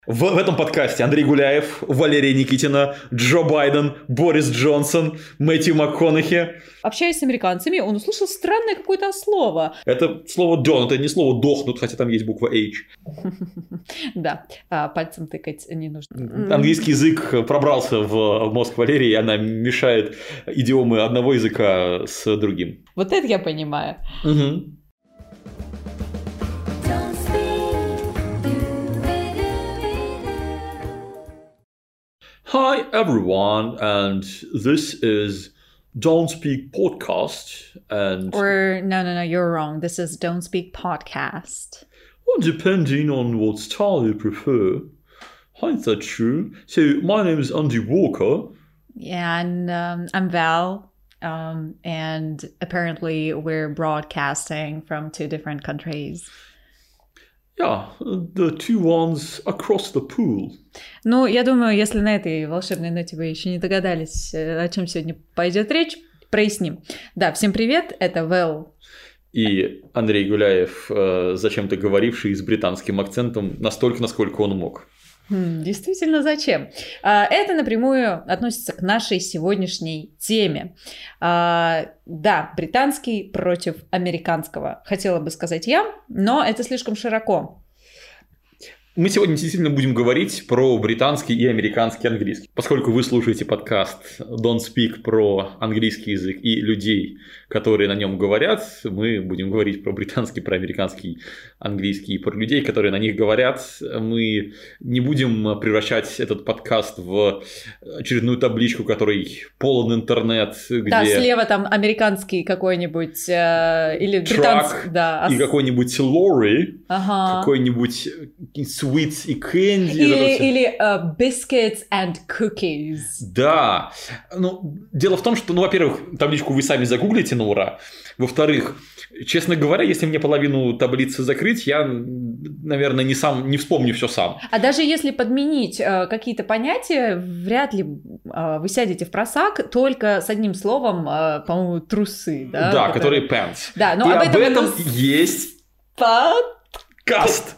В этом подкасте Андрей Гуляев, Валерия Никитина, Джо Байден, Борис Джонсон, Мэтью МакКонахи. Общаясь с американцами, он услышал странное какое-то слово. Это слово «дон», это не слово «дохнут», хотя там есть буква «H». Да, пальцем тыкать не нужно. Английский язык пробрался в мозг Валерии, и она мешает идиомы одного языка с другим. Вот это я понимаю. Угу. Hi everyone, and this is Don't Speak Podcast, and... Or, no, you're wrong. This is Don't Speak Podcast. Well, depending on what style you prefer. Ain't that true? So, my name is Andy Walker. Yeah, and I'm Val, and apparently we're broadcasting from two different countries. Yeah, the two ones across the pool. Ну, я думаю, если на этой волшебной ноте вы еще не догадались, о чем сегодня пойдет речь, проясним. Да, всем привет, это Вэл. И Андрей Гуляев, зачем-то говоривший с британским акцентом настолько, насколько он мог. Действительно, зачем? Это напрямую относится к нашей сегодняшней теме. Да, британский против американского, хотела бы сказать я, но это слишком широко. Мы сегодня действительно будем говорить про британский и американский английский. Поскольку вы слушаете подкаст Don't Speak про английский язык и людей, которые на нем говорят, мы будем говорить про британский, про американский английский и про людей, которые на них говорят. Мы не будем превращать этот подкаст в очередную табличку, которой полон интернет, где... Да, слева там американский какой-нибудь или британский, да. И какой-нибудь Лори, ага. Какой-нибудь sweets и candy. Или biscuits and cookies. Да. Ну, дело в том, что, во-первых, табличку вы сами загуглите на ура. Во-вторых, честно говоря, если мне половину таблицы закрыть, я, наверное, не вспомню все сам. А даже если подменить какие-то понятия, вряд ли вы сядете в просак только с одним словом, по-моему, трусы. Да, да, которые pants. Да, но и об этом есть подкаст.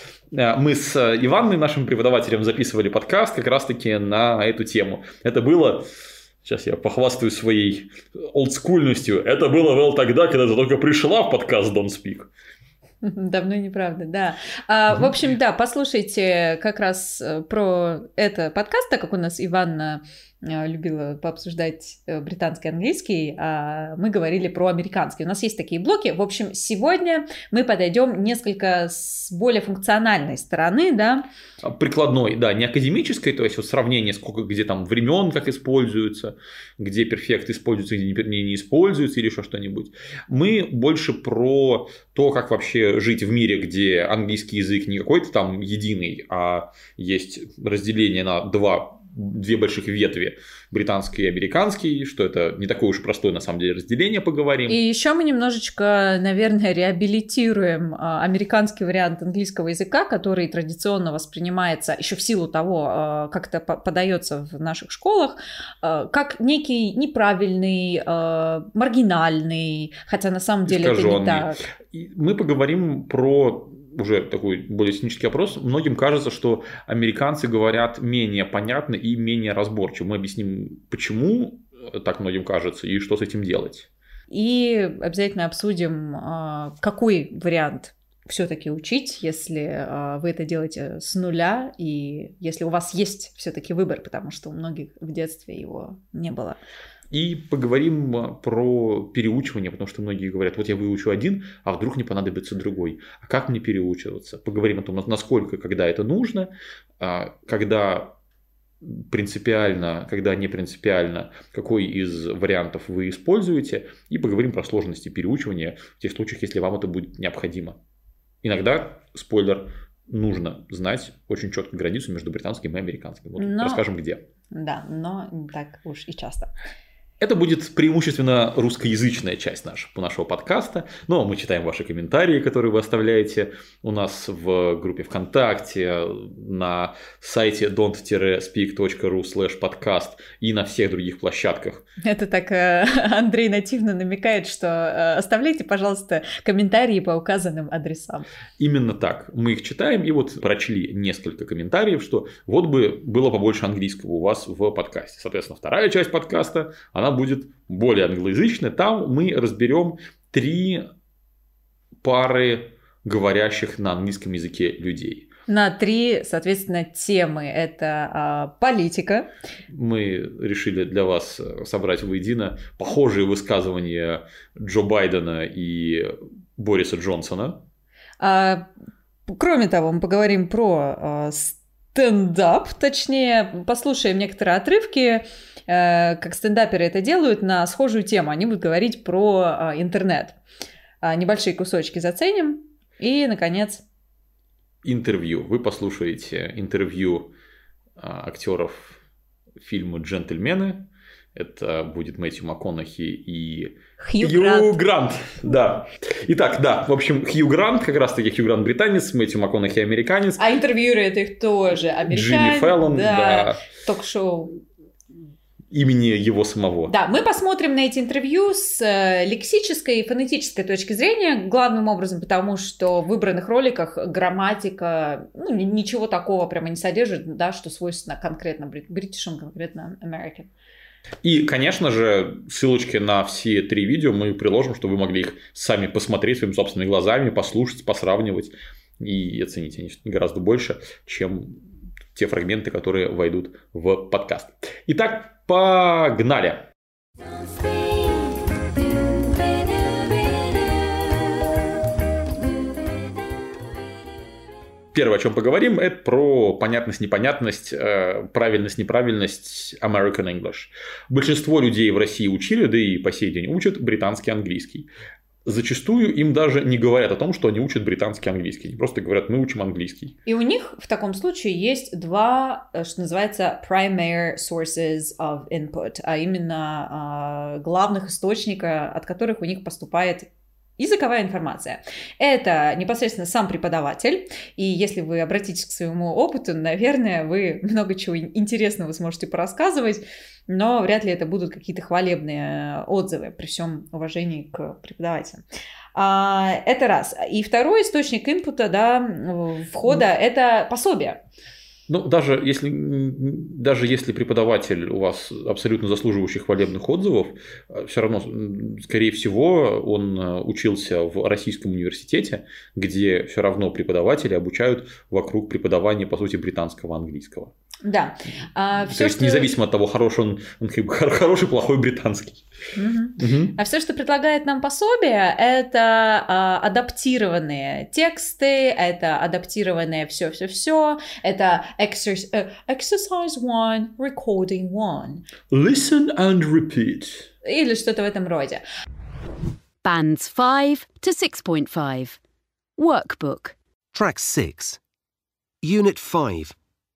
Мы с Иванной, нашим преподавателем, записывали подкаст как раз-таки на эту тему. Это было... Сейчас я похвастаюсь своей олдскульностью. Это было, Вэл, тогда, когда ты только пришла в подкаст Don't Speak. Давно и неправда, да. В общем, да, послушайте как раз про это подкаст, так как у нас Иванна любила пообсуждать британский и английский, а мы говорили про американский. У нас есть такие блоки. В общем, сегодня мы подойдем несколько с более функциональной стороны, да. Прикладной, да, не академической, то есть вот сравнение, сколько, где там времен, как используется, где перфект используется, где не используется или еще что-нибудь. Мы больше про то, как вообще жить в мире, где английский язык не какой-то там единый, а есть разделение на две больших ветви, британский и американский, что это не такое уж простое, на самом деле, разделение, поговорим. И еще мы немножечко, наверное, реабилитируем американский вариант английского языка, который традиционно воспринимается еще в силу того, как это подается в наших школах, как некий неправильный, маргинальный, хотя на самом деле это не так. Мы поговорим про уже такой более технический вопрос. Многим кажется, что американцы говорят менее понятно и менее разборчиво. Мы объясним, почему так многим кажется и что с этим делать. И обязательно обсудим, какой вариант все-таки учить, если вы это делаете с нуля, и если у вас есть все-таки выбор, потому что у многих в детстве его не было. И поговорим про переучивание, потому что многие говорят, вот я выучу один, а вдруг не понадобится другой. А как мне переучиваться? Поговорим о том, насколько, когда это нужно, когда принципиально, когда не принципиально, какой из вариантов вы используете. И поговорим про сложности переучивания в тех случаях, если вам это будет необходимо. Иногда, спойлер, нужно знать очень четко границу между британским и американским. Вот расскажем, где. Да, но не так уж и часто. Это будет преимущественно русскоязычная часть нашего подкаста, но мы читаем ваши комментарии, которые вы оставляете у нас в группе ВКонтакте, на сайте don't-speak.ru/podcast и на всех других площадках. Это так Андрей нативно намекает, что оставляйте, пожалуйста, комментарии по указанным адресам. Именно так. Мы их читаем и вот прочли несколько комментариев, что вот бы было побольше английского у вас в подкасте. Соответственно, вторая часть подкаста, она будет более англоязычная. Там мы разберем 3 пары говорящих на английском языке людей. На 3, соответственно, темы. Это политика. Мы решили для вас собрать воедино похожие высказывания Джо Байдена и Бориса Джонсона. Кроме того, мы поговорим про стендап, точнее, послушаем некоторые отрывки, как стендаперы это делают, на схожую тему. Они будут говорить про интернет. Небольшие кусочки заценим. И, наконец... интервью. Вы послушаете интервью актеров фильма «Джентльмены». Это будет Мэтью МакКонахи и Хью Грант. Да. Итак, да, в общем, Хью Грант, как раз-таки Хью Грант британец, Мэтью МакКонахи американец. А интервьюеры это их тоже американец. Джимми Фэллон, да. Ток-шоу. Имени его самого. Да, мы посмотрим на эти интервью с лексической и фонетической точки зрения, главным образом потому, что в выбранных роликах грамматика, ничего такого прямо не содержит, да, что свойственно конкретно бритишам, конкретно American. И, конечно же, ссылочки на все 3 видео мы приложим, чтобы вы могли их сами посмотреть своими собственными глазами, послушать, посравнивать и оценить. Они гораздо больше, чем те фрагменты, которые войдут в подкаст. Итак, погнали! Первое, о чем поговорим, это про понятность, непонятность, правильность, неправильность American English. Большинство людей в России учили, да и по сей день учат британский английский. Зачастую им даже не говорят о том, что они учат британский английский. Они просто говорят, мы учим английский. И у них в таком случае есть 2, что называется, primary sources of input, а именно главных источника, от которых у них поступает языковая информация. Это непосредственно сам преподаватель, и если вы обратитесь к своему опыту, наверное, вы много чего интересного сможете порассказывать, но вряд ли это будут какие-то хвалебные отзывы, при всем уважении к преподавателю. Это раз. И второй источник инпута, да, входа, это пособие. Ну, даже если преподаватель у вас абсолютно заслуживающий хвалебных отзывов, все равно, скорее всего, он учился в российском университете, где все равно преподаватели обучают вокруг преподавания, по сути, британского английского. Да. То есть, независимо от того, хороший он хороший, плохой британский. Угу. А все, что предлагает нам пособие, это адаптированные тексты, это адаптированное все-все-все, это exercise 1, recording 1. Listen and repeat. Или что-то в этом роде. Bands 5 to 6.5. Workbook. Track 6. Unit 5.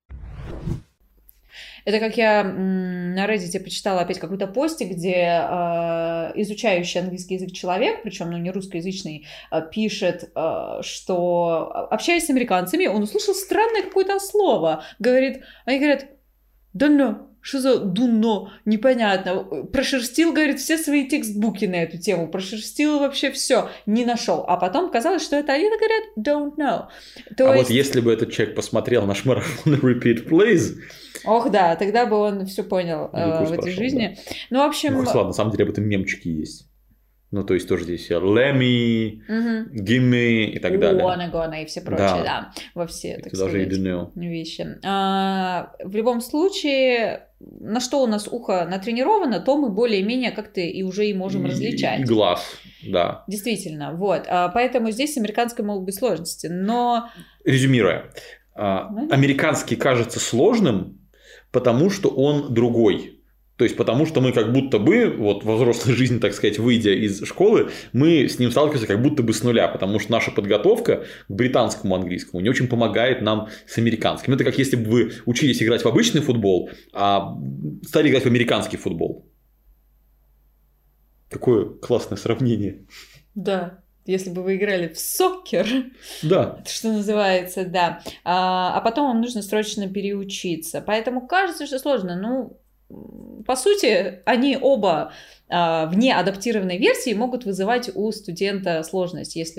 Это как я на Reddit почитала опять какой-то постик, где изучающий английский язык человек, причем не русскоязычный, пишет, что, общаясь с американцами, он услышал странное какое-то слово. Они говорят, «Дунно». Что за «дунно»? Непонятно. Прошерстил, говорит, все свои текстбуки на эту тему. Прошерстил вообще все. Не нашел. А потом казалось, что это они говорят «don't know». Вот если бы этот человек посмотрел наш марафон «Repeat, please». Ох, да, тогда бы он все понял в этой жизни. Да. Ну, в общем... ладно, на самом деле об этом мемчики есть. Ну, то есть, тоже здесь let me, give me и так далее. Gonna и все прочее, да. Во все, так сказать, вещи. В любом случае, на что у нас ухо натренировано, то мы более-менее как-то и уже и можем различать. И глаз, да. Действительно, вот. Поэтому здесь с американской могут быть сложности, но... Резюмируя, американский кажется сложным, потому что он другой. То есть, потому что мы как будто бы, вот во взрослой жизни, так сказать, выйдя из школы, мы с ним сталкиваемся как будто бы с нуля, потому что наша подготовка к британскому английскому не очень помогает нам с американским. Это как если бы вы учились играть в обычный футбол, а стали играть в американский футбол. Какое классное сравнение. Да. Если бы вы играли в соккер, да. что называется, да. А потом вам нужно срочно переучиться. Поэтому кажется, что сложно. Ну, по сути, они оба в неадаптированной версии могут вызывать у студента сложность, если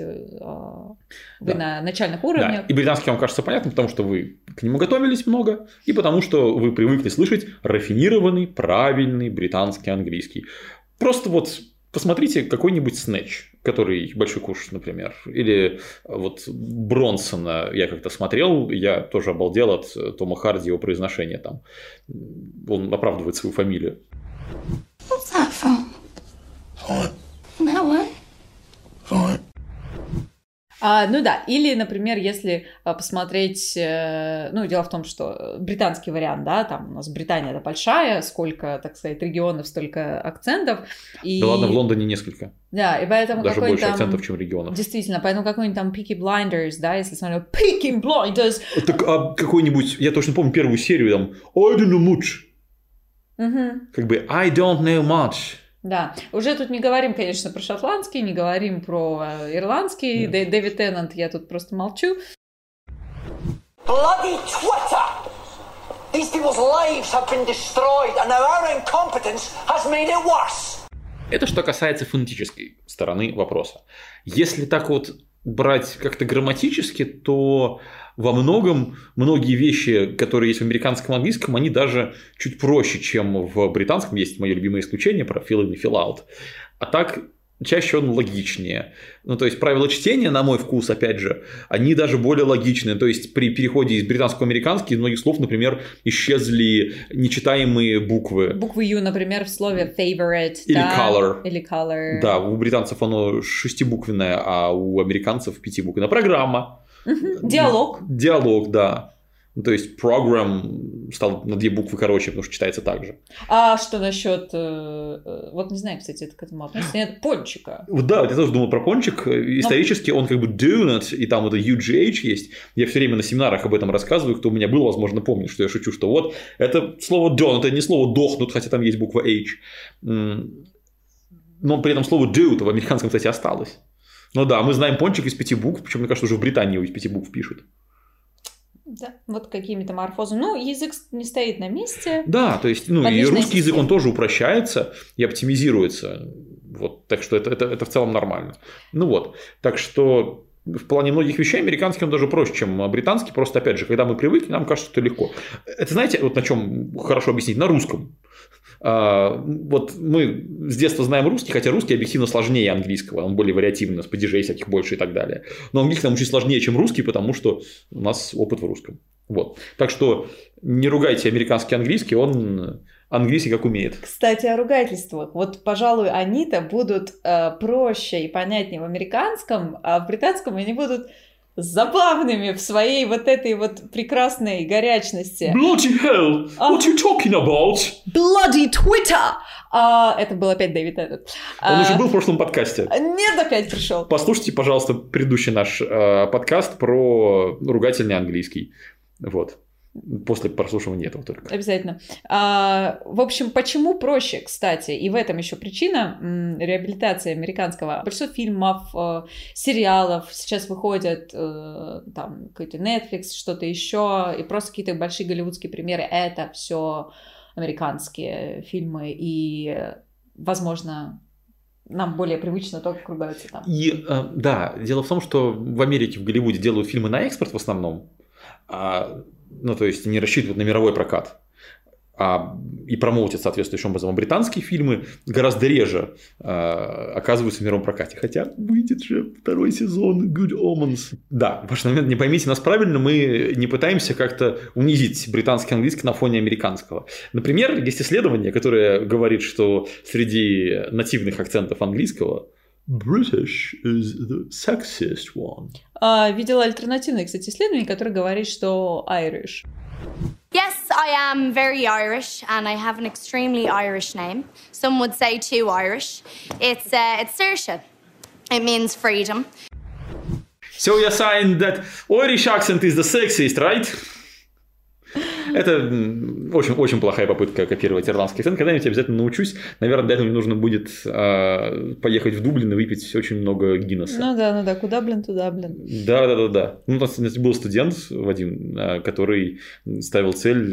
вы на начальных уровнях. Да. И британский вам кажется понятным, потому что вы к нему готовились много, и потому что вы привыкли слышать рафинированный, правильный британский английский. Просто вот посмотрите какой-нибудь Snatch, который «Большой куш», например, или вот Бронсона я как-то смотрел, я тоже обалдел от Тома Харди, его произношения там. Он оправдывает свою фамилию. What's that from? Fine. That one? Fine. Ну да, или, например, если посмотреть, ну, дело в том, что британский вариант, да, там у нас Британия это большая, сколько, так сказать, регионов, столько акцентов. И... Да ладно, в Лондоне несколько. Да, и поэтому даже больше там... акцентов, чем регионов. Действительно, поэтому какой-нибудь там Peaky Blinders, да, если смотрю Peaky Blinders. Так, а какой-нибудь, я точно помню первую серию, там, I don't know much. Как бы, I don't know much. Да, уже тут не говорим, конечно, про шотландский, не говорим про ирландский. Дэвид Теннант, я тут просто молчу. Bloody Twitter! These people's lives have been destroyed, and now our incompetence has made it worse. Это что касается фонетической стороны вопроса. Если так вот брать как-то грамматически, то во многом многие вещи, которые есть в американском английском, они даже чуть проще, чем в британском. Есть мое любимое исключение про fill in и fill out. А так чаще он логичнее. Ну, то есть правила чтения, на мой вкус, опять же, они даже более логичные. То есть при переходе из британского в американский из многих слов, например, исчезли нечитаемые буквы. Буквы U, например, в слове favorite. Или да? color. Или color. Да, у британцев оно 6-буквенное, а у американцев 5-буквенное. Программа. Диалог. Диалог, да. То есть program стал на 2 буквы короче, потому что читается так же. А что насчет, вот не знаю, кстати, это к этому относится, нет, пончика? Да, я тоже думал про пончик. Исторически он как бы donut, и там это UGH есть. Я все время на семинарах об этом рассказываю. Кто у меня был, возможно, помнит, что я шучу, что вот это слово donut, это не слово дохнут, хотя там есть буква H. Но при этом слово do в американском, кстати, осталось. Ну да, мы знаем пончик из 5 букв, причем, мне кажется, уже в Британии его из 5 букв пишут. Да, вот какими-то морфозами. Ну, язык не стоит на месте. Да, то есть, ну, и русский язык, он тоже упрощается и оптимизируется. Вот, так что это в целом нормально. Ну вот, так что в плане многих вещей американский он даже проще, чем британский. Просто, опять же, когда мы привыкли, нам кажется, что легко. Это, знаете, вот на чем хорошо объяснить? На русском. Вот мы с детства знаем русский, хотя русский объективно сложнее английского, он более вариативный, у нас падежей всяких больше и так далее. Но английский нам чуть сложнее, чем русский, потому что у нас опыт в русском. Вот. Так что не ругайте американский английский, он английский как умеет. Кстати, о ругательствах. Вот, пожалуй, они-то будут проще и понятнее в американском, а в британском они будут забавными в своей вот этой вот прекрасной горячности. Bloody hell! What are you talking about? Bloody Twitter! Это был опять Дэвид Теннант. Он уже был в прошлом подкасте. Нет, опять пришел. Послушайте, пожалуйста, предыдущий наш подкаст про ругательный английский. Вот. После прослушивания этого только. Обязательно. В общем, почему проще, кстати, и в этом еще причина реабилитации американского. Большинство фильмов, сериалов сейчас выходят, там, какой-то Netflix, что-то еще, и просто какие-то большие голливудские примеры. Это все американские фильмы, и, возможно, нам более привычно то, как ругаются там. И, да, дело в том, что в Америке, в Голливуде делают фильмы на экспорт в основном. Ну, то есть, не рассчитывают на мировой прокат. И промоутят соответствующим образом. А британские фильмы гораздо реже оказываются в мировом прокате. Хотя выйдет же 2-й сезон Good Omens. Да, важный момент, не поймите нас правильно, мы не пытаемся как-то унизить британский английский на фоне американского. Например, есть исследование, которое говорит, что среди нативных акцентов английского British is the sexiest one. Видела альтернативное, кстати, исследование, которое говорит, что Irish. Yes, I am very Irish, and I have an extremely Irish name. Some would say too Irish. It's Saoirse. It means freedom. So you're saying that Irish accent is the sexiest, right? Это очень плохая попытка копировать ирландский акцент. Когда-нибудь обязательно научусь. Наверное, для этого мне нужно будет поехать в Дублин и выпить очень много Гиннесса. Ну да, куда, блин, туда, блин. Да. Ну, у нас был студент, Вадим, который ставил цель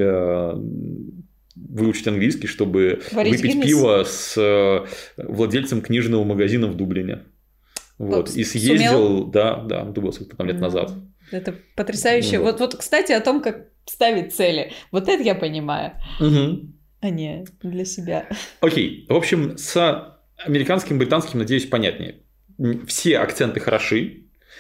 выучить английский, чтобы выпить пиво с владельцем книжного магазина в Дублине. Вот. И съездил, да, это было сколько-то лет назад. Это потрясающе. Вот, кстати, о том, как ставить цели. Вот это я понимаю. А не для себя. Окей. В общем, с американским, британским, надеюсь, понятнее. Все акценты хороши.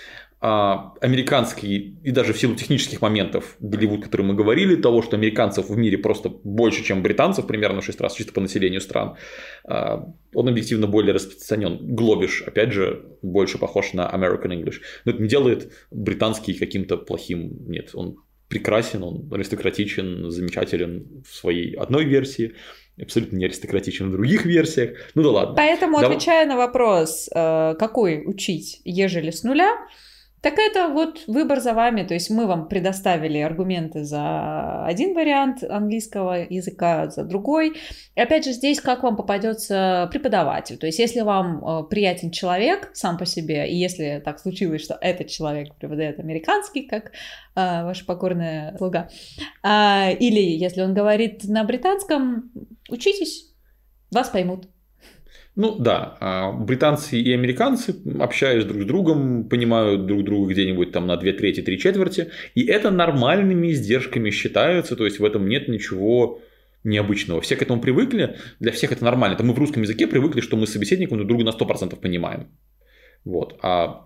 Американский, и даже в силу технических моментов, Голливуд, о котором мы говорили, того, что американцев в мире просто больше, чем британцев, примерно в 6 раз, чисто по населению стран, он объективно более распространен. Глобиш, опять же, больше похож на American English. Но это не делает британский каким-то плохим. Нет, он прекрасен, он аристократичен, замечателен в своей одной версии, абсолютно не аристократичен в других версиях. Ну да ладно. Поэтому, отвечая на вопрос, какой учить, ежели с нуля, так это вот выбор за вами, то есть мы вам предоставили аргументы за один вариант английского языка, за другой. И опять же здесь как вам попадется преподаватель, то есть если вам приятен человек сам по себе, и если так случилось, что этот человек преподает американский, как ваша покорная слуга, или если он говорит на британском, учитесь, вас поймут. Ну да, британцы и американцы, общаясь друг с другом, понимают друг друга где-нибудь там на 2/3, 3/4, и это нормальными издержками считается, то есть в этом нет ничего необычного. Все к этому привыкли, для всех это нормально. Это мы в русском языке привыкли, что мы с собеседником друг друга на 100% понимаем. Вот. А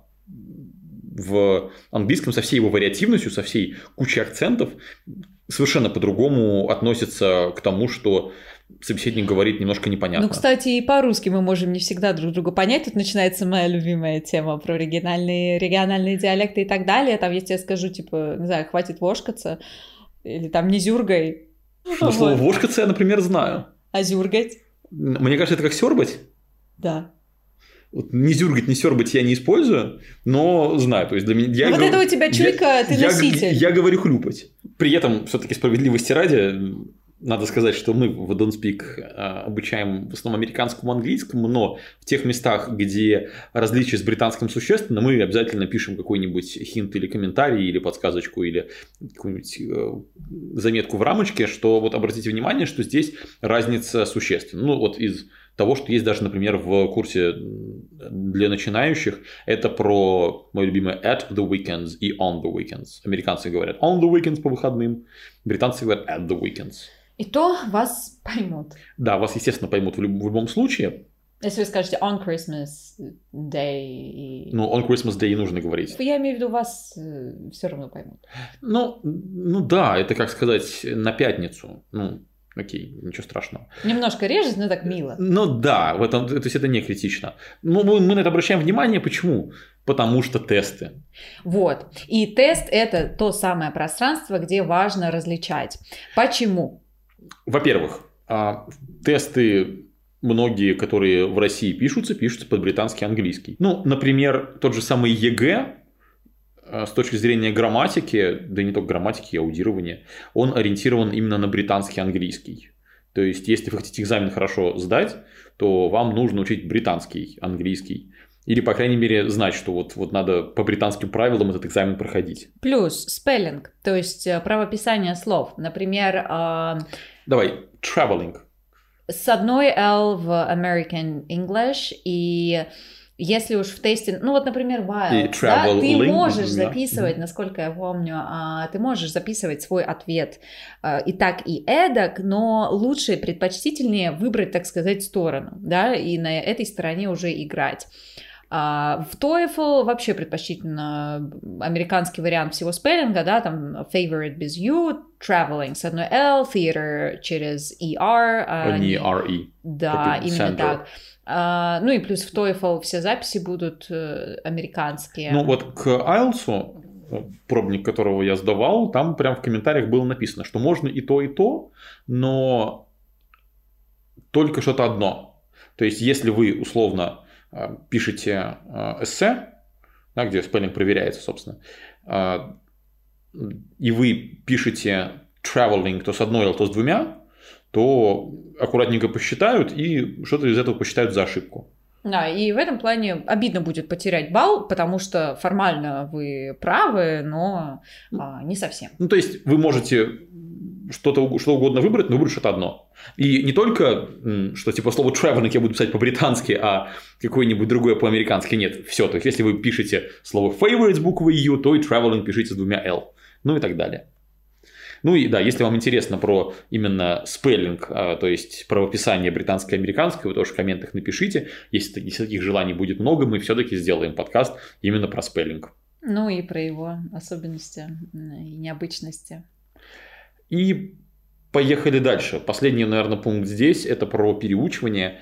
в английском со всей его вариативностью, со всей кучей акцентов совершенно по-другому относится к тому, что собеседник говорит немножко непонятно. Ну, кстати, и по-русски мы можем не всегда друг друга понять. Тут начинается моя любимая тема про региональные диалекты и так далее. Там, если я скажу, типа, не знаю, хватит вошкаться, или там не зюргай. Ну, слово вошкаться я, например, знаю. А зюргать? Мне кажется, это как сёрбать. Да. Вот не зюргать, не сёрбать я не использую, но знаю. То есть для меня... Вот это у тебя чуйка, ты носитель. Я говорю хлюпать. При этом, все-таки справедливости ради, надо сказать, что мы в Don't Speak обучаем в основном американскому английскому, но в тех местах, где различия с британским существенно, мы обязательно пишем какой-нибудь хинт или комментарий, или подсказочку, или какую-нибудь заметку в рамочке, что вот обратите внимание, что здесь разница существенна. Ну, вот из того, что есть даже, например, в курсе для начинающих, это про мое любимое at the weekends и on the weekends. Американцы говорят on the weekends по выходным, британцы говорят at the weekends. И то вас поймут. Да, вас, естественно, поймут в любом случае. Если вы скажете on Christmas Day... Ну, on Christmas Day и нужно говорить. Я имею в виду, вас все равно поймут. Ну да, это, как сказать, на пятницу. Ну, окей, ничего страшного. Немножко режет, но так мило. Ну да, в этом, то есть это не критично. Ну, мы на это обращаем внимание. Почему? Потому что тесты. Вот. И тест – это то самое пространство, где важно различать. Почему? Во-первых, тесты многие, которые в России пишутся под британский английский. Ну, например, тот же самый ЕГЭ с точки зрения грамматики, да и не только грамматики, и аудирования, он ориентирован именно на британский английский. То есть, если вы хотите экзамен хорошо сдать, то вам нужно учить британский английский. Или, по крайней мере, знать, что вот надо по британским правилам этот экзамен проходить. Плюс спеллинг, то есть правописание слов. Например... Давай, traveling. С одной L в American English, и если уж в тесте... Ну вот, например, while, да, ты можешь записывать, насколько я помню, ты можешь записывать свой ответ и так, и эдак, но лучше, предпочтительнее выбрать, так сказать, сторону, да, и на этой стороне уже играть. В TOEFL вообще предпочтительно американский вариант всего спеллинга, да, там favorite без U, traveling с одной L, theater через ER. Не RE. Да, именно так. Ну и плюс в TOEFL все записи будут американские. Ну вот к IELTS, пробник которого я сдавал, там прям в комментариях было написано, что можно и то, но только что-то одно. То есть если вы условно пишете эссе, да, где спеллинг проверяется, собственно, и вы пишете traveling то с одной L, то с двумя, то аккуратненько посчитают и что-то из этого посчитают за ошибку. Да, и в этом плане обидно будет потерять балл, потому что формально вы правы, но не совсем. Ну, то есть вы можете что угодно выбрать, но выбрать что-то одно. И не только, что типа слово traveling я буду писать по-британски, а какое-нибудь другое по-американски. Нет, все. То есть если вы пишете слово favorite с буквой U, то и traveling пишите с двумя L. Ну и так далее. Ну и да, если вам интересно про именно спеллинг, то есть правописание британско-американское, вы тоже в комментах напишите. Если таких желаний будет много, мы все-таки сделаем подкаст именно про спеллинг. Ну и про его особенности и необычности. И поехали дальше. Последний, наверное, пункт здесь – это про переучивание.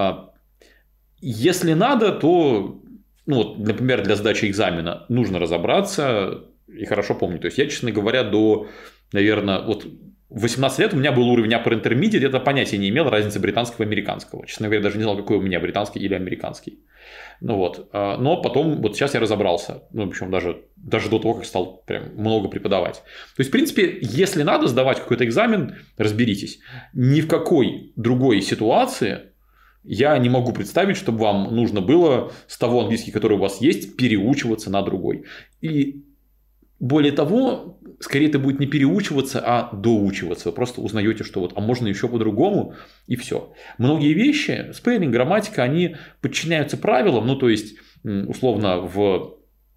Если надо, то, ну, вот, например, для сдачи экзамена нужно разобраться и хорошо помнить. То есть я, честно говоря, до, наверное, вот 18 лет у меня был уровень Upper Intermediate, это понятия не имел разницы британского и американского. Честно говоря, даже не знал, какой у меня британский или американский. Ну вот. Но потом, вот сейчас я разобрался. Ну, причем даже до того, как стал прям много преподавать. То есть, в принципе, если надо сдавать какой-то экзамен, разберитесь. Ни в какой другой ситуации я не могу представить, чтобы вам нужно было с того английского, который у вас есть, переучиваться на другой. И более того, скорее это будет не переучиваться, а доучиваться. Вы просто узнаете, что вот, а можно еще по-другому, и все. Многие вещи, спеллинг, грамматика, они подчиняются правилам, ну, то есть, условно, в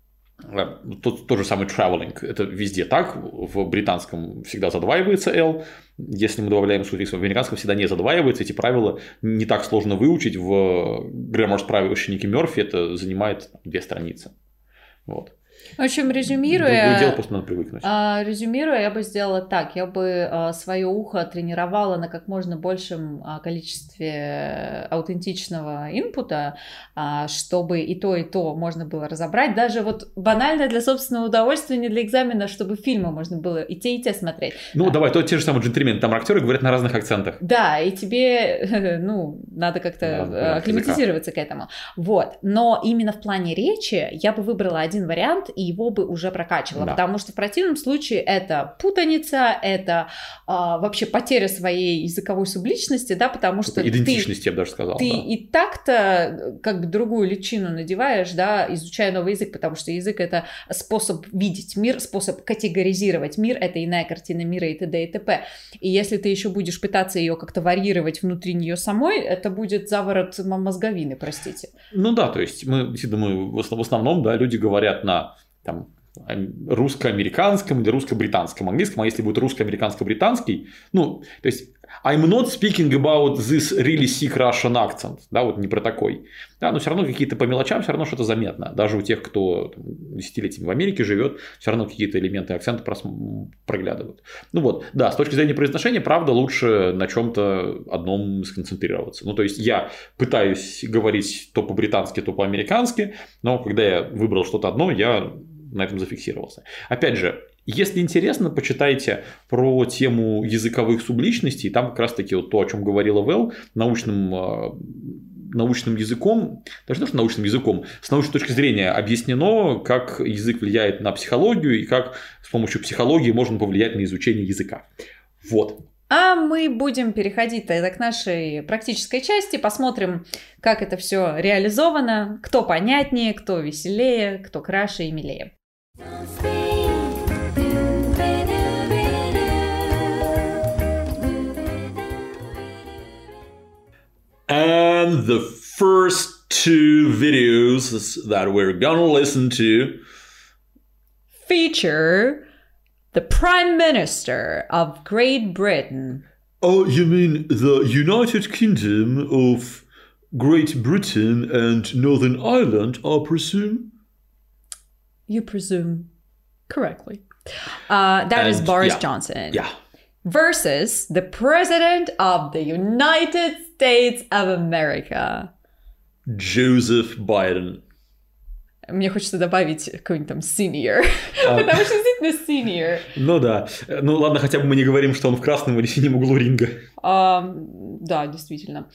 тот же самый traveling, это везде так, в британском всегда задваивается L, если мы добавляем суффикс, в американском всегда не задваивается, эти правила не так сложно выучить, в Grammar справочнике Мёрфи это занимает 2 страницы. Вот. В общем, резюмируя, дело просто надо привыкнуть. Я бы сделала так. Я бы свое ухо тренировала на как можно большем количестве аутентичного инпута, чтобы и то можно было разобрать. Даже вот банально для собственного удовольствия, не для экзамена, чтобы фильмы можно было и те смотреть. Ну, давай, то те же самые джентльмены, там актеры говорят на разных акцентах. Да, и тебе, надо как-то акклиматизироваться к этому. Вот. Но именно в плане речи я бы выбрала один вариант, и его бы уже прокачивала, потому что в противном случае это путаница, это вообще потеря своей языковой субличности, да, потому что идентичности, я бы даже сказал. Ты и так-то как бы другую личину надеваешь, да, изучая новый язык, потому что язык — это способ видеть мир, способ категоризировать мир, это иная картина мира и т.д. и т.п. И если ты еще будешь пытаться ее как-то варьировать внутри нее самой, это будет заворот мозговины, простите. Ну да, то есть мы думаю, в основном, да, люди говорят на там русско-американском или русско-британском английском, а если будет русско-американско-британский, ну, то есть I'm not speaking about this really sick Russian accent, да, вот не про такой, да, но все равно какие-то по мелочам все равно что-то заметно, даже у тех, кто десятилетиями в Америке живет, все равно какие-то элементы акцента проглядывают. Ну вот, да, с точки зрения произношения, правда, лучше на чем-то одном сконцентрироваться. Ну, то есть я пытаюсь говорить то по-британски, то по-американски, но когда я выбрал что-то одно, я на этом зафиксировался. Опять же, если интересно, почитайте про тему языковых субличностей. Там как раз-таки вот то, о чем говорила Вэл, научным языком, даже не то, что научным языком, с научной точки зрения объяснено, как язык влияет на психологию и как с помощью психологии можно повлиять на изучение языка. Вот. А мы будем переходить тогда к нашей практической части, посмотрим, как это все реализовано, кто понятнее, кто веселее, кто краше и милее. And the first 2 videos that we're gonna listen to feature the Prime Minister of Great Britain. Oh, you mean the United Kingdom of Great Britain and Northern Ireland, I presume? You presume correctly. That is Boris Johnson. Yeah. Versus the President of the United States of America. Joseph Biden. Мне хочется добавить какой-нибудь там senior, потому что действительно senior. Ну да. Ну ладно, хотя бы мы не говорим, что он в красном или синем углу ринга. Да, действительно.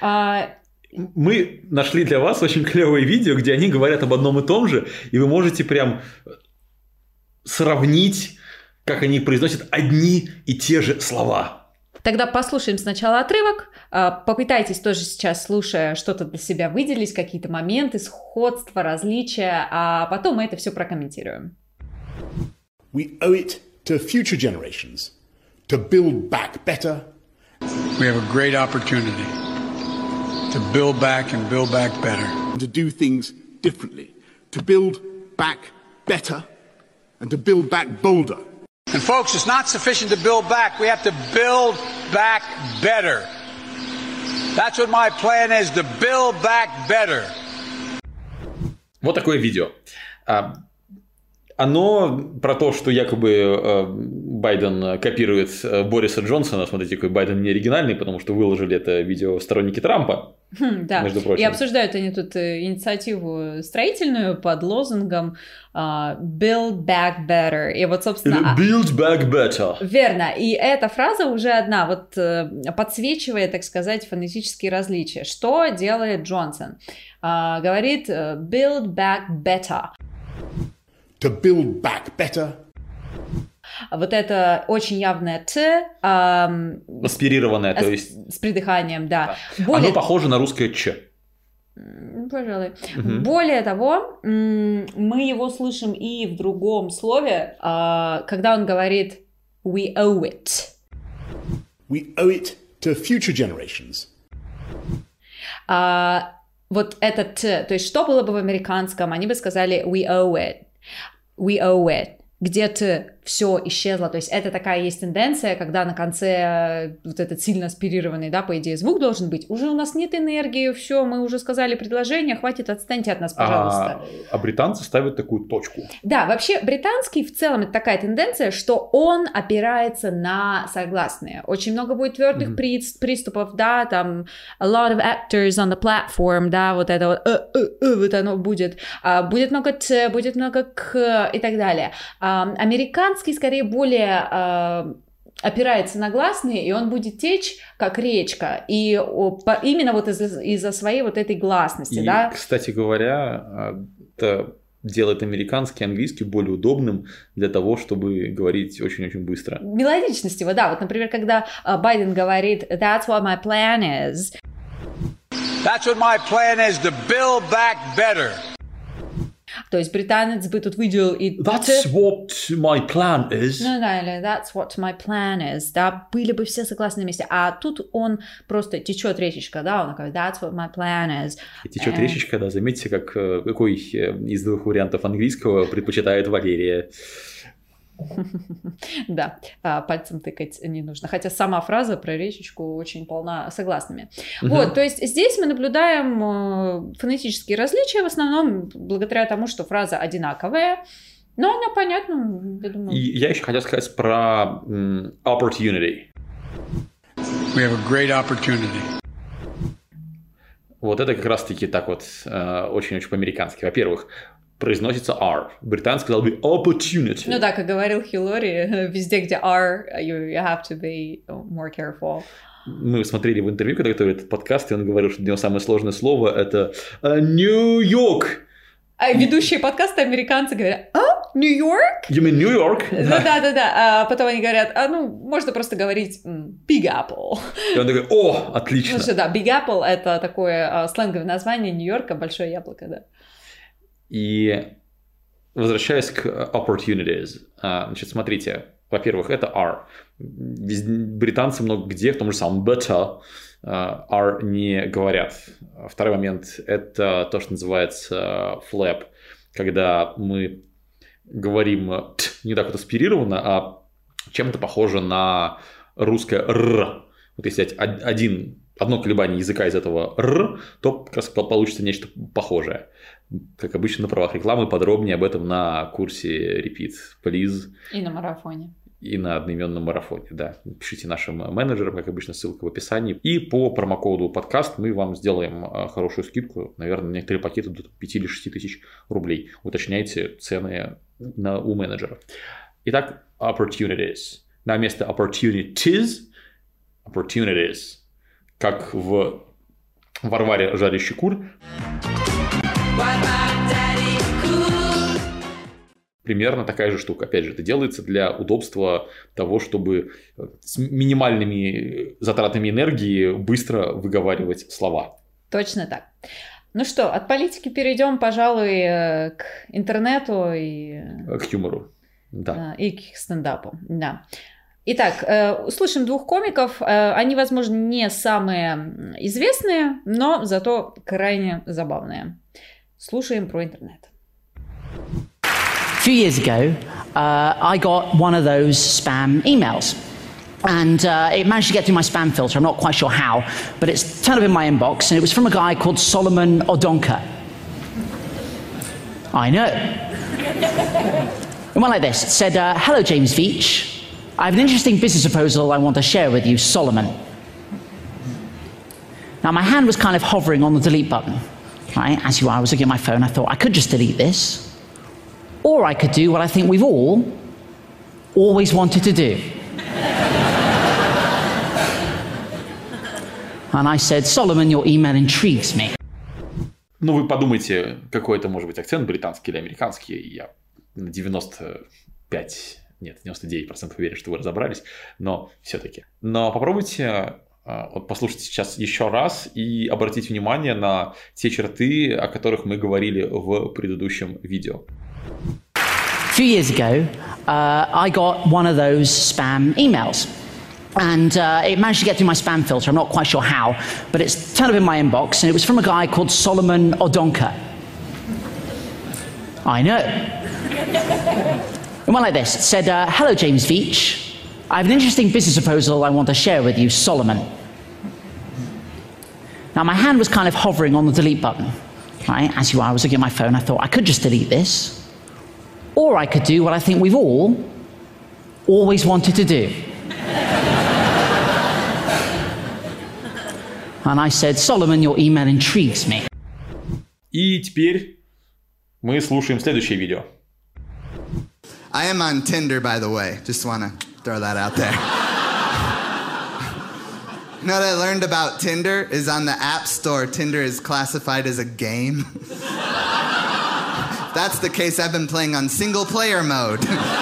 Мы нашли для вас очень клевое видео, где они говорят об одном и том же, и вы можете прям сравнить как они произносят одни и те же слова. Тогда послушаем сначала отрывок, попытайтесь тоже сейчас, слушая, что-то для себя выделить, какие-то моменты, сходства, различия, а потом мы это все прокомментируем. We owe it to future generations to build back better. We have a great opportunity to build back and build back better. To do things differently, to build back better and to build back bolder. And folks, it's not sufficient to build back. We have to build back better. That's what my plan is, to build back better. Вот такое видео. Оно про то, что якобы Байден копирует Бориса Джонсона. Смотрите, какой Байден не оригинальный, потому что выложили это видео сторонники Трампа. Да, между прочим. И обсуждают они тут инициативу строительную под лозунгом «Build back better». И вот, собственно... «Build back better». Верно. И эта фраза уже одна, вот подсвечивает, так сказать, фонетические различия. Что делает Джонсон? Говорит «build back better». To build back better. Вот это очень явное «т». Аспирированное, то есть... С придыханием, да. Оно похоже на русское «ч». Пожалуй. Более того, мы его слышим и в другом слове, когда он говорит «we owe it». We owe it to future generations. Вот это «т», то есть что было бы в американском? Они бы сказали «we owe it». We owe it. Где-то все исчезло. То есть это такая есть тенденция, когда на конце вот этот сильно аспирированный, да, по идее, звук должен быть. Уже у нас нет энергии, все, мы уже сказали предложение, хватит, отстаньте от нас, пожалуйста. А британцы ставят такую точку. Да, вообще британский в целом это такая тенденция, что он опирается на согласные. Очень много будет твердых приступов, да, там a lot of actors on the platform, да, вот это вот оно будет. Будет много т, будет много к и так далее. Американский скорее более опирается на гласные, и он будет течь как речка, и именно вот из-за своей вот этой гласности, и, да. Кстати говоря, это делает американский английский более удобным для того, чтобы говорить очень-очень быстро. Мелодичность его, да. Вот, например, когда Байден говорит «That's what my plan is». That's what my plan is, to build back better. То есть британец бы тут выделил и... That's what my plan is. Ну да, или that's what my plan is. Да, были бы все согласны вместе. А тут он просто течет речечка, да, он говорит that's what my plan is. И течет речечка, да, заметьте, какой из двух вариантов английского предпочитает Валерия. Да, пальцем тыкать не нужно. Хотя сама фраза про речечку очень полна согласными. Вот, то есть здесь мы наблюдаем фонетические различия, в основном благодаря тому, что фраза одинаковая, но она понятна, я думаю. И я еще хотел сказать про opportunity. We have a great opportunity. Вот это как раз-таки так вот очень-очень по-американски. Во-первых, произносится R. Британский сказал бы opportunity. Ну да, как говорил Хиллари, везде, где R, you have to be more careful. Мы смотрели в интервью, когда готовили этот подкаст, и он говорил, что для него самое сложное слово – это Нью-Йорк. А ведущие подкаста американцы говорят Нью-Йорк? You mean New York? Да. А потом они говорят, можно просто говорить Big Apple. И он такой, о, отлично. Потому что, да, Big Apple – это такое сленговое название Нью-Йорка, большое яблоко, да. И возвращаясь к opportunities, значит, смотрите, во-первых, это R. Британцы много где, в том же самом better, R не говорят. Второй момент – это то, что называется flap, когда мы говорим не так вот аспирированно, а чем-то похоже на русское «р». Вот если взять одно колебание языка из этого «р», то как раз получится нечто похожее. Как обычно на правах рекламы, подробнее об этом на курсе Repeat, please. И на марафоне. И на одноименном марафоне, да. Пишите нашим менеджерам, как обычно, ссылка в описании. И по промокоду подкаст мы вам сделаем хорошую скидку. Наверное, некоторые пакеты до 5 или 6 тысяч рублей. Уточняйте цены у менеджера. Итак, opportunities. На место opportunities. Как в Варваре жарящий кур. примерно такая же штука. Опять же, это делается для удобства того, чтобы с минимальными затратами энергии быстро выговаривать слова. Точно так. Ну что, от политики перейдем, пожалуй, к интернету и... К юмору, да. И к стендапу, да. Итак, услышим двух комиков. Они, возможно, не самые известные, но зато крайне забавные. Слушаем про интернет. A few years ago, I got one of those spam emails. And it managed to get through my spam filter. I'm not quite sure how, but it's turned up in my inbox, and it was from a guy called Solomon Odonka. I know. It went like this. It said, hello, James Veach. I have an interesting business proposal I want to share with you, Solomon. Now, my hand was kind of hovering on the delete button. Right? As you are, I was looking at my phone. I thought, I could just delete this. Or I could do what I think we've all always wanted to do. And I said, Solomon, your email intrigues me. Ну, вы подумайте, какой это может быть акцент, британский или американский. Я на 99% уверен, что вы разобрались, но все-таки. Но попробуйте вот послушать сейчас еще раз и обратить внимание на те черты, о которых мы говорили в предыдущем видео. A few years ago, I got one of those spam emails. And it managed to get through my spam filter. I'm not quite sure how, but it's turned up in my inbox, and it was from a guy called Solomon Odonka. I know. It went like this. It said, hello, James Veach. I have an interesting business proposal I want to share with you, Solomon. Now, my hand was kind of hovering on the delete button. Right? As you are, I was looking at my phone. I thought, I could just delete this. Or I could do what I think we've all always wanted to do. And I said, Solomon, your email intrigues me. И теперь мы слушаем следующее видео. I am on Tinder, by the way. Just want to throw that out there. You know what I learned about Tinder is on the App Store, Tinder is classified as a game. If that's the case, I've been playing on single-player mode.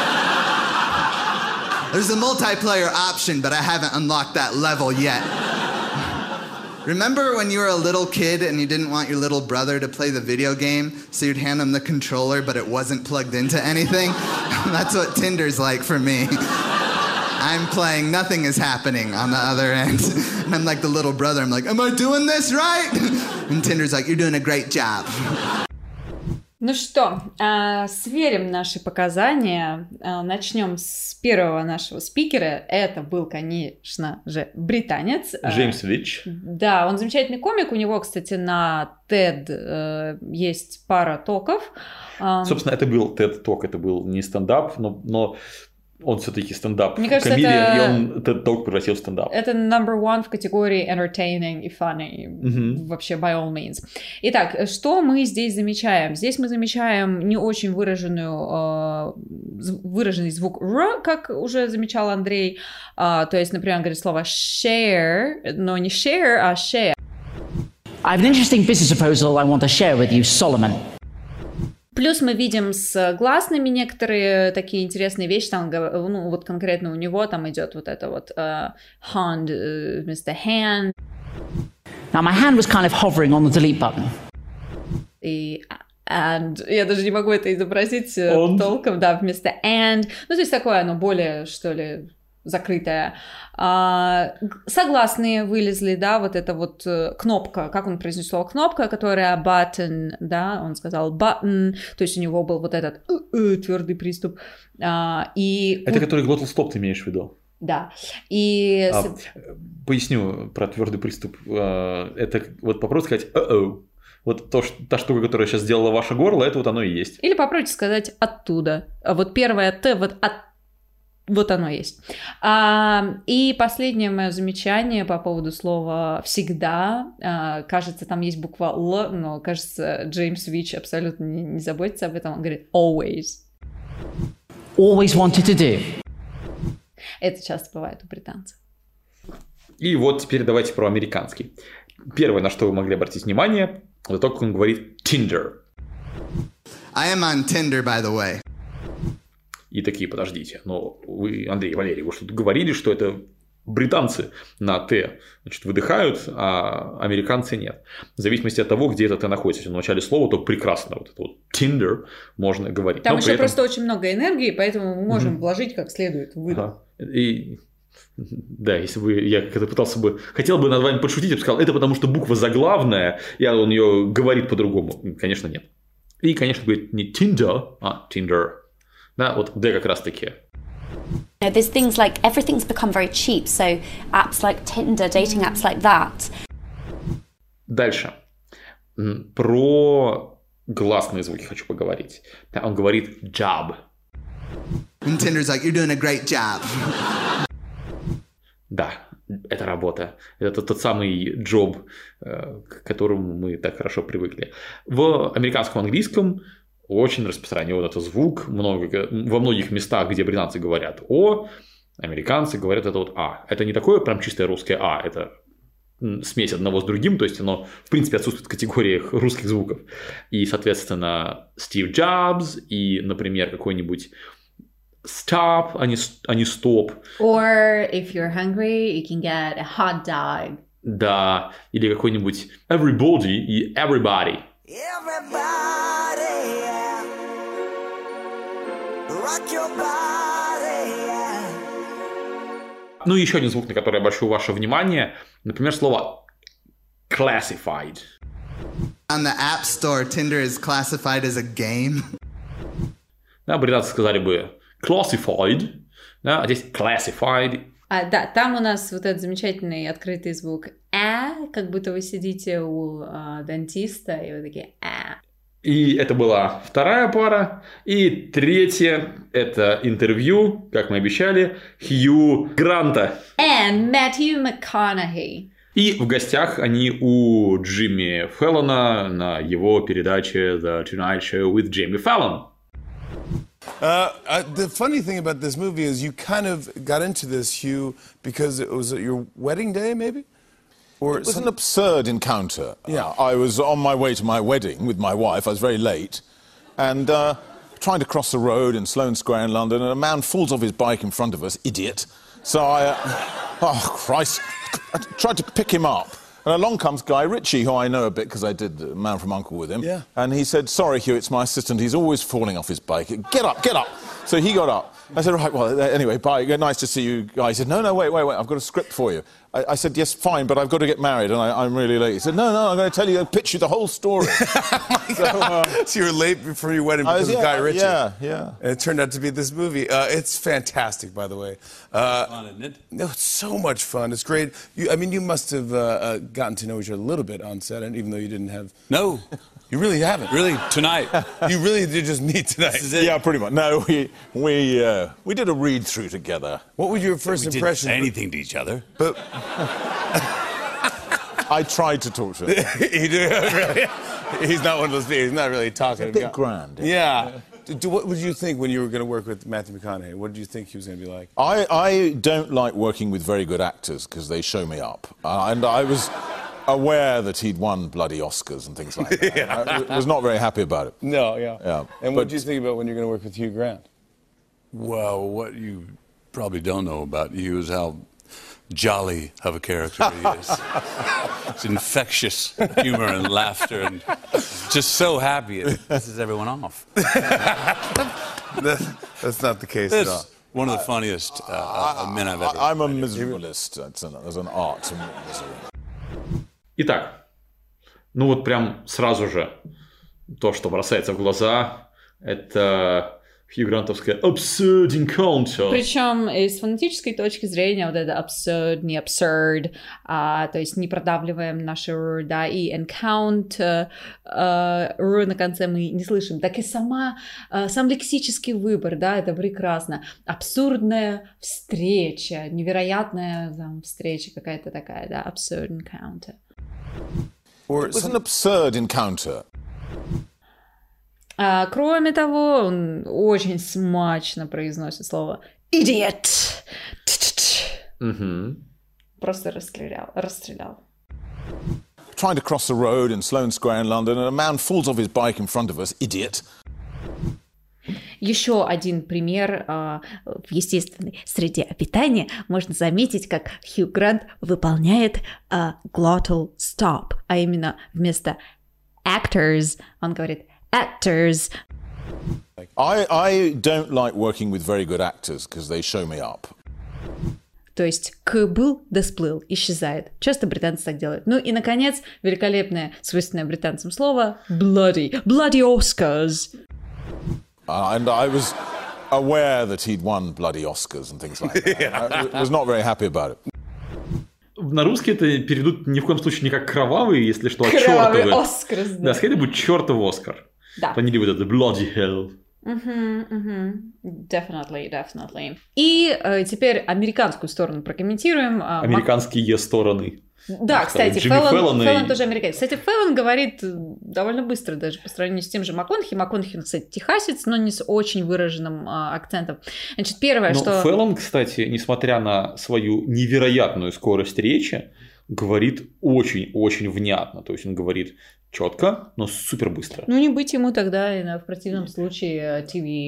There's a multiplayer option, but I haven't unlocked that level yet. Remember when you were a little kid and you didn't want your little brother to play the video game, so you'd hand him the controller, but it wasn't plugged into anything? That's what Tinder's like for me. I'm playing, nothing is happening on the other end. And I'm like the little brother, I'm like, am I doing this right? And Tinder's like, you're doing a great job. Ну что, сверим наши показания. Начнем с первого нашего спикера. Это был, конечно же, британец. Джеймс Вич. Да, он замечательный комик. У него, кстати, на TED есть пара токов. Собственно, это был TED-ток, это был не стендап, но он все-таки стендап-комедиан, и он TED-ток превратил в стендап. Это number one в категории entertaining и funny. Вообще, by all means. Итак, что мы здесь замечаем? Здесь мы замечаем не очень выраженный звук «р», как уже замечал Андрей. То есть, например, он говорит слово share, но не share, а share. I have an interesting business proposal I want to share with you, Solomon. Плюс мы видим с гласными некоторые такие интересные вещи, там, ну, вот конкретно у него там идет вот это вот hand вместо hand. Now my hand was kind of hovering on the delete button. И and, я даже не могу это изобразить толком, да, вместо and. Ну, то есть такое оно более, что ли, закрытое. Согласные вылезли, да, вот эта вот кнопка, как он произнес слово кнопка, которая button, да, он сказал button, то есть у него был вот этот твердый приступ. И это который glottal stop ты имеешь в виду? Да. И... Поясню про твердый приступ. Это вот попробуй сказать вот та штука, которая сейчас сделала ваше горло, это вот оно и есть. Или попробуйте сказать оттуда. Вот первое Т, вот вот оно есть. И последнее мое замечание по поводу слова «всегда». Кажется, там есть буква «л», но, кажется, Джеймс Вич абсолютно не заботится об этом. Он говорит «always». Always wanted to do. Это часто бывает у британцев. И вот теперь давайте про американский. Первое, на что вы могли обратить внимание, это то, как он говорит «Tinder». I am on Tinder, by the way. И такие, подождите, но вы, Андрей, Валерий, вы что-то говорили, что это британцы на «т», значит, выдыхают, а американцы нет. В зависимости от того, где это «т» находится. В начале слова, то прекрасно вот это вот Tinder можно говорить. Там еще просто очень много энергии, поэтому мы можем вложить как следует в выдох. И да, если бы я когда пытался бы, хотел бы над вами подшутить, я бы сказал, это потому что буква заглавная, и он ее говорит по-другому. Конечно, нет. И, конечно, говорит не Tinder, а Tinder. Да, вот «д» как раз таки. There's things like everything's become very cheap, so apps like Tinder, dating apps like that. Дальше. Про гласные звуки хочу поговорить. Он говорит job. And Tinder's like, you're doing a great job. Да, это работа. Это тот самый job, к которому мы так хорошо привыкли. В американском английском очень распространен этот звук. Во многих местах, где британцы говорят «о», американцы говорят это вот «а». Это не такое прям чистое русское «а», это смесь одного с другим, то есть оно, в принципе, отсутствует в категориях русских звуков. И, соответственно, Стив Джобс и, например, какой-нибудь stop, а не stop. Or if you're hungry, you can get a hot dog. Да, или какой-нибудь everybody и everybody. Everybody, yeah. Rock your body, yeah. Ну и еще один звук, на который я обращу ваше внимание, например, слово classified. On the App Store, Tinder is classified as a game. Да, британцы сказали бы classified, да, а здесь classified. Да, там у нас вот этот замечательный открытый звук как будто вы сидите у дантиста, и вы такие И это была вторая пара. И третья – это интервью, как мы обещали, Хью Гранта. And Matthew McConaughey. И в гостях они у Джимми Фэллона на его передаче The Tonight Show with Jimmy Fallon. The funny thing about this movie is you kind of got into this, Hugh, because it was your wedding day, maybe? Or it was an absurd encounter. Yeah. I was on my way to my wedding with my wife. I was very late. And trying to cross the road in Sloane Square in London, and a man falls off his bike in front of us, idiot. So I, oh Christ, I tried to pick him up. And along comes Guy Ritchie, who I know a bit because I did Man from U.N.C.L.E. with him. Yeah. And he said, sorry, Hugh, it's my assistant. He's always falling off his bike. Get up, get up. So he got up. I said, right, well, anyway, bye. Nice to see you, Guy. He said, no, wait. I've got a script for you. I said, yes, fine, but I've got to get married and I'm really late. He said, no, I'm going to tell you, pitch you the whole story. So you were late for your wedding because of Guy Ritchie. Yeah. And it turned out to be this movie. It's fantastic, by the way. Fun, isn't it? No, it's so much fun. It's great. You must have gotten to know each other a little bit on set, and even though you didn't have... No. You really haven't? Really, tonight. You really did just meet tonight? This is it. Yeah, pretty much. No, we did a read-through together. What was your first impression? We didn't say anything to each other. But... I tried to talk to him. He did, really? He's not one of those people. He's not really talking. It's a bit grand. Yeah. What did you think when you were going to work with Matthew McConaughey? What did you think he was going to be like? I don't like working with very good actors because they show me up. And I was aware that he'd won bloody Oscars and things like that. Yeah. I was not very happy about it. No, yeah. And what did you think about when you're going to work with Hugh Grant? Well, what you probably don't know about Hugh is how jolly of a character he is. It's infectious humor and laughter and just so happy it pisses everyone off. That's not the case at all. One of the funniest men I've ever I'm a miserabilist. There's an art to misery. Итак, ну вот прям сразу же то, что бросается в глаза, это Хью Грантовская absurd encounter. Причем из фонетической точки зрения вот это absurd, не absurd, то есть не продавливаем наши r, да, и encounter, r на конце мы не слышим. Так и сам лексический выбор, да, это прекрасно. Абсурдная встреча, невероятная там, встреча какая-то такая, да, absurd encounter. It was an absurd encounter. Кроме того, он очень смачно произносит слово idiot. Просто расстрелял. Trying to cross the road in Sloane Square in London, and a man falls off his bike in front of us, idiot. Еще один пример в естественной среде обитания. Можно заметить, как Хью Грант выполняет glottal stop, а именно вместо actors он говорит actors. I don't like working with very good actors because they show me up. То есть «к» был, да сплыл, исчезает. Часто британцы так делают. Ну и, наконец, великолепное, свойственное британцам слово «bloody». Bloody Oscars. And I was aware that he'd won bloody Oscars and things like that. I was not very happy about it. На русский это перейдут ни в коем случае не как кровавый, если что, а кровавый чёртовый. Оскар. Да, скорее будет чёртов Оскар. Да. Они любят это bloody hell. Definitely. И теперь американскую сторону прокомментируем. Американские стороны. Да, кстати, Феллон тоже американец. Кстати, Феллон говорит довольно быстро даже по сравнению с тем же МакКонахи. МакКонахи, кстати, техасец, но не с очень выраженным акцентом. Значит, первое, что... Феллон, кстати, несмотря на свою невероятную скорость речи, говорит очень-очень внятно. То есть он говорит четко, но супер быстро. Ну, не быть ему тогда, в противном случае,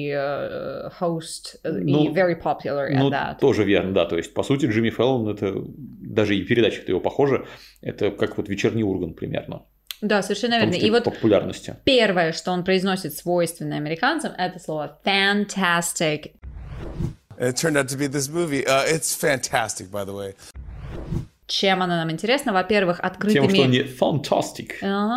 TV-host и very popular at that. Тоже верно, да. То есть, по сути, Джимми Феллон, это даже и передача-то его похожа, это как вот вечерний Ургант примерно. Да, совершенно верно. И вот популярности. Первое, что он произносит свойственное американцам, это слово fantastic. It turned out to be this movie. It's fantastic, by the way. Чем она нам интересна? Во-первых, открытыми... Тем, что они fantastic.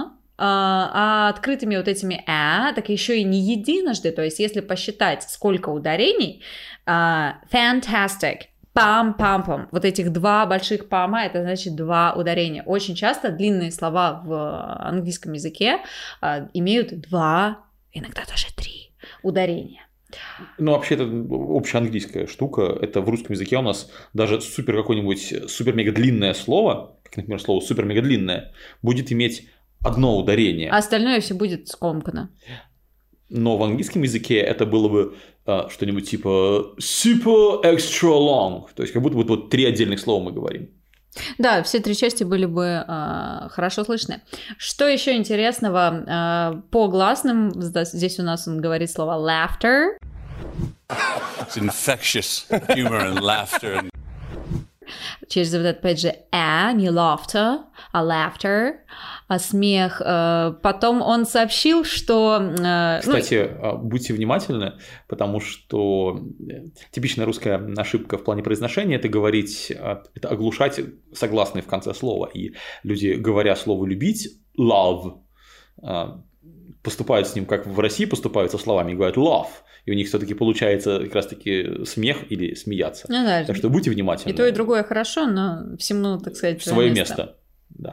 А открытыми вот этими так еще и не единожды. То есть, если посчитать, сколько ударений, fantastic, пам-пам-пам, вот этих два больших пама, это значит два ударения. Очень часто длинные слова в английском языке имеют два, иногда даже три ударения. Ну, вообще, это общеанглийская штука. Это в русском языке у нас даже какое-нибудь супер-мега-длинное слово, как, например, слово супер-мега-длинное, будет иметь одно ударение. А остальное все будет скомкано. Но в английском языке это было бы что-нибудь типа super extra long. То есть, как будто вот три отдельных слова мы говорим. Да, все три части были бы хорошо слышны. Что еще интересного? По гласным, здесь у нас он говорит слово laughter. It's infectious humor and laughter. Через вот это, опять же, не laughter, а laughter, смех. Потом он сообщил, что... Кстати, будьте внимательны, потому что типичная русская ошибка в плане произношения – это говорить, это оглушать согласные в конце слова. И люди, говоря слово «любить», love, поступают с ним, как в России поступают со словами, и говорят love. И у них все-таки получается как раз-таки смех или смеяться. Ну, да. Так что будьте внимательны. И то, и другое хорошо, но всему, так сказать, свое место. Да.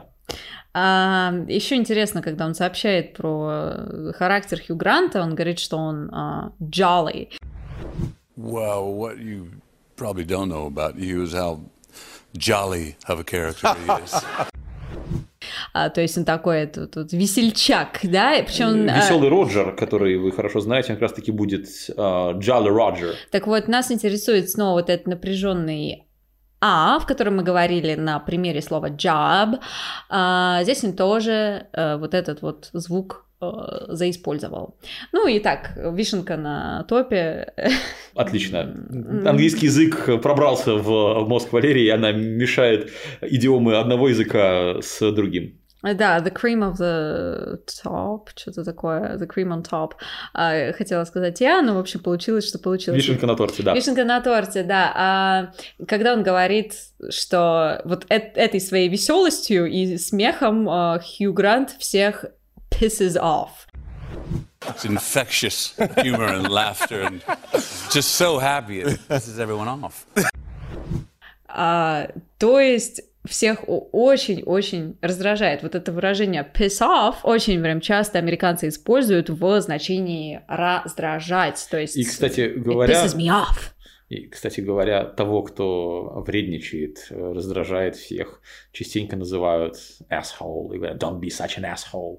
Еще интересно, когда он сообщает про характер Хью Гранта, он говорит, что он jolly. Well, what you probably don't know about you is how jolly of a character he is. То есть он такой тут весельчак, да? Причем веселый Роджер, который вы хорошо знаете, он как раз-таки будет Jolly Roger. Так вот, нас интересует снова вот этот напряженный в котором мы говорили на примере слова job. Здесь он тоже вот этот вот звук заиспользовал. Ну и так, вишенка на топе. Отлично. Английский язык пробрался в мозг Валерии, и она мешает идиомы одного языка с другим. Да, the cream of the top, что-то такое, the cream on top. Хотела сказать я, но, в общем, получилось, что получилось. Вишенка на торте, да. Вишенка на торте, да. Когда он говорит, что вот этой своей веселостью и смехом Хью Грант всех pisses off. It's infectious humor and laughter and just so happy it pisses everyone off. То есть всех очень-очень раздражает. Вот это выражение piss off очень прям часто американцы используют в значении раздражать. То есть и, кстати говоря, it pisses me off. И, кстати говоря, того, кто вредничает, раздражает всех, частенько называют asshole и говорят don't be such an asshole.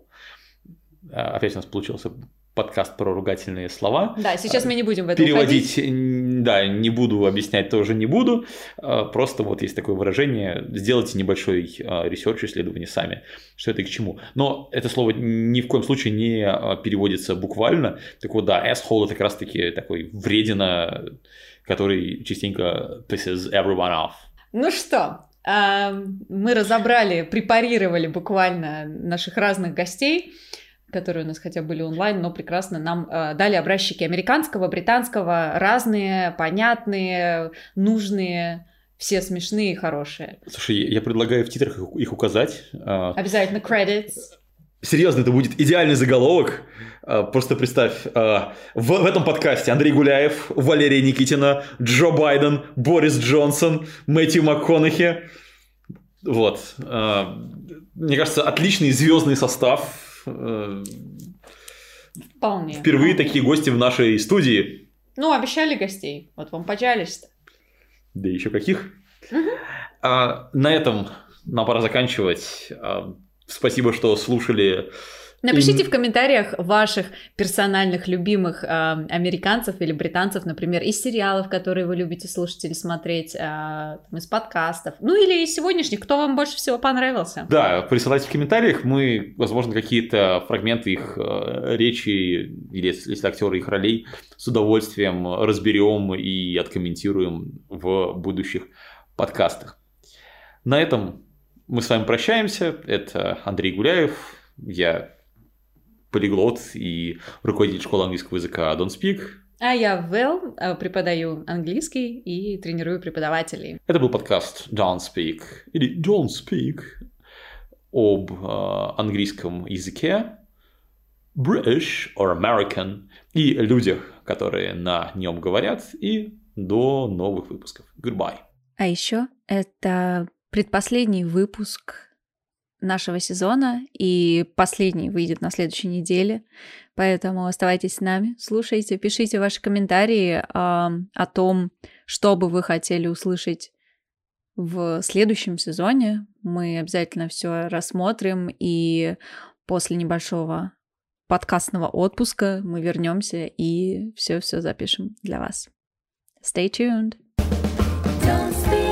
Опять у нас получился подкаст про ругательные слова. Да, сейчас мы не будем в это переводить уходить. Да, не буду объяснять, тоже не буду. Просто вот есть такое выражение. Сделайте небольшой ресерч, исследование сами, что это и к чему. Но это слово ни в коем случае не переводится буквально. Так вот, да, asshole – это как раз-таки такой вредина, который частенько pisses everyone off. Ну что, мы разобрали, препарировали буквально наших разных гостей, которые у нас хотя были онлайн, но прекрасно нам дали образчики американского, британского, разные, понятные, нужные, все смешные и хорошие. Слушай, я предлагаю в титрах их указать. Обязательно credits. Серьезно, это будет идеальный заголовок. Просто представь, в этом подкасте Андрей Гуляев, Валерия Никитина, Джо Байден, Борис Джонсон, Мэтью МакКонахи. Вот. Мне кажется, отличный звездный состав. Вполне. Впервые такие гости в нашей студии. Ну, обещали гостей. Вот вам поджались-то. Да еще каких. На этом нам пора заканчивать. Спасибо, что слушали. Напишите в комментариях ваших персональных любимых американцев или британцев, например, из сериалов, которые вы любите слушать или смотреть, из подкастов, ну или из сегодняшних, кто вам больше всего понравился. Да, присылайте в комментариях, мы, возможно, какие-то фрагменты их речи или, если актеры их ролей, с удовольствием разберем и откомментируем в будущих подкастах. На этом мы с вами прощаемся. Это Андрей Гуляев, я полиглот и руководитель школы английского языка Don't Speak. А я Вэл, преподаю английский и тренирую преподавателей. Это был подкаст Don't Speak или Don't Speak об английском языке, British or American, и людях, которые на нем говорят, и до новых выпусков. Goodbye. А еще это предпоследний выпуск нашего сезона, и последний выйдет на следующей неделе, поэтому оставайтесь с нами, слушайте, пишите ваши комментарии о том, что бы вы хотели услышать в следующем сезоне. Мы обязательно все рассмотрим, и после небольшого подкастного отпуска мы вернемся и все запишем для вас. Stay tuned. Don't speak.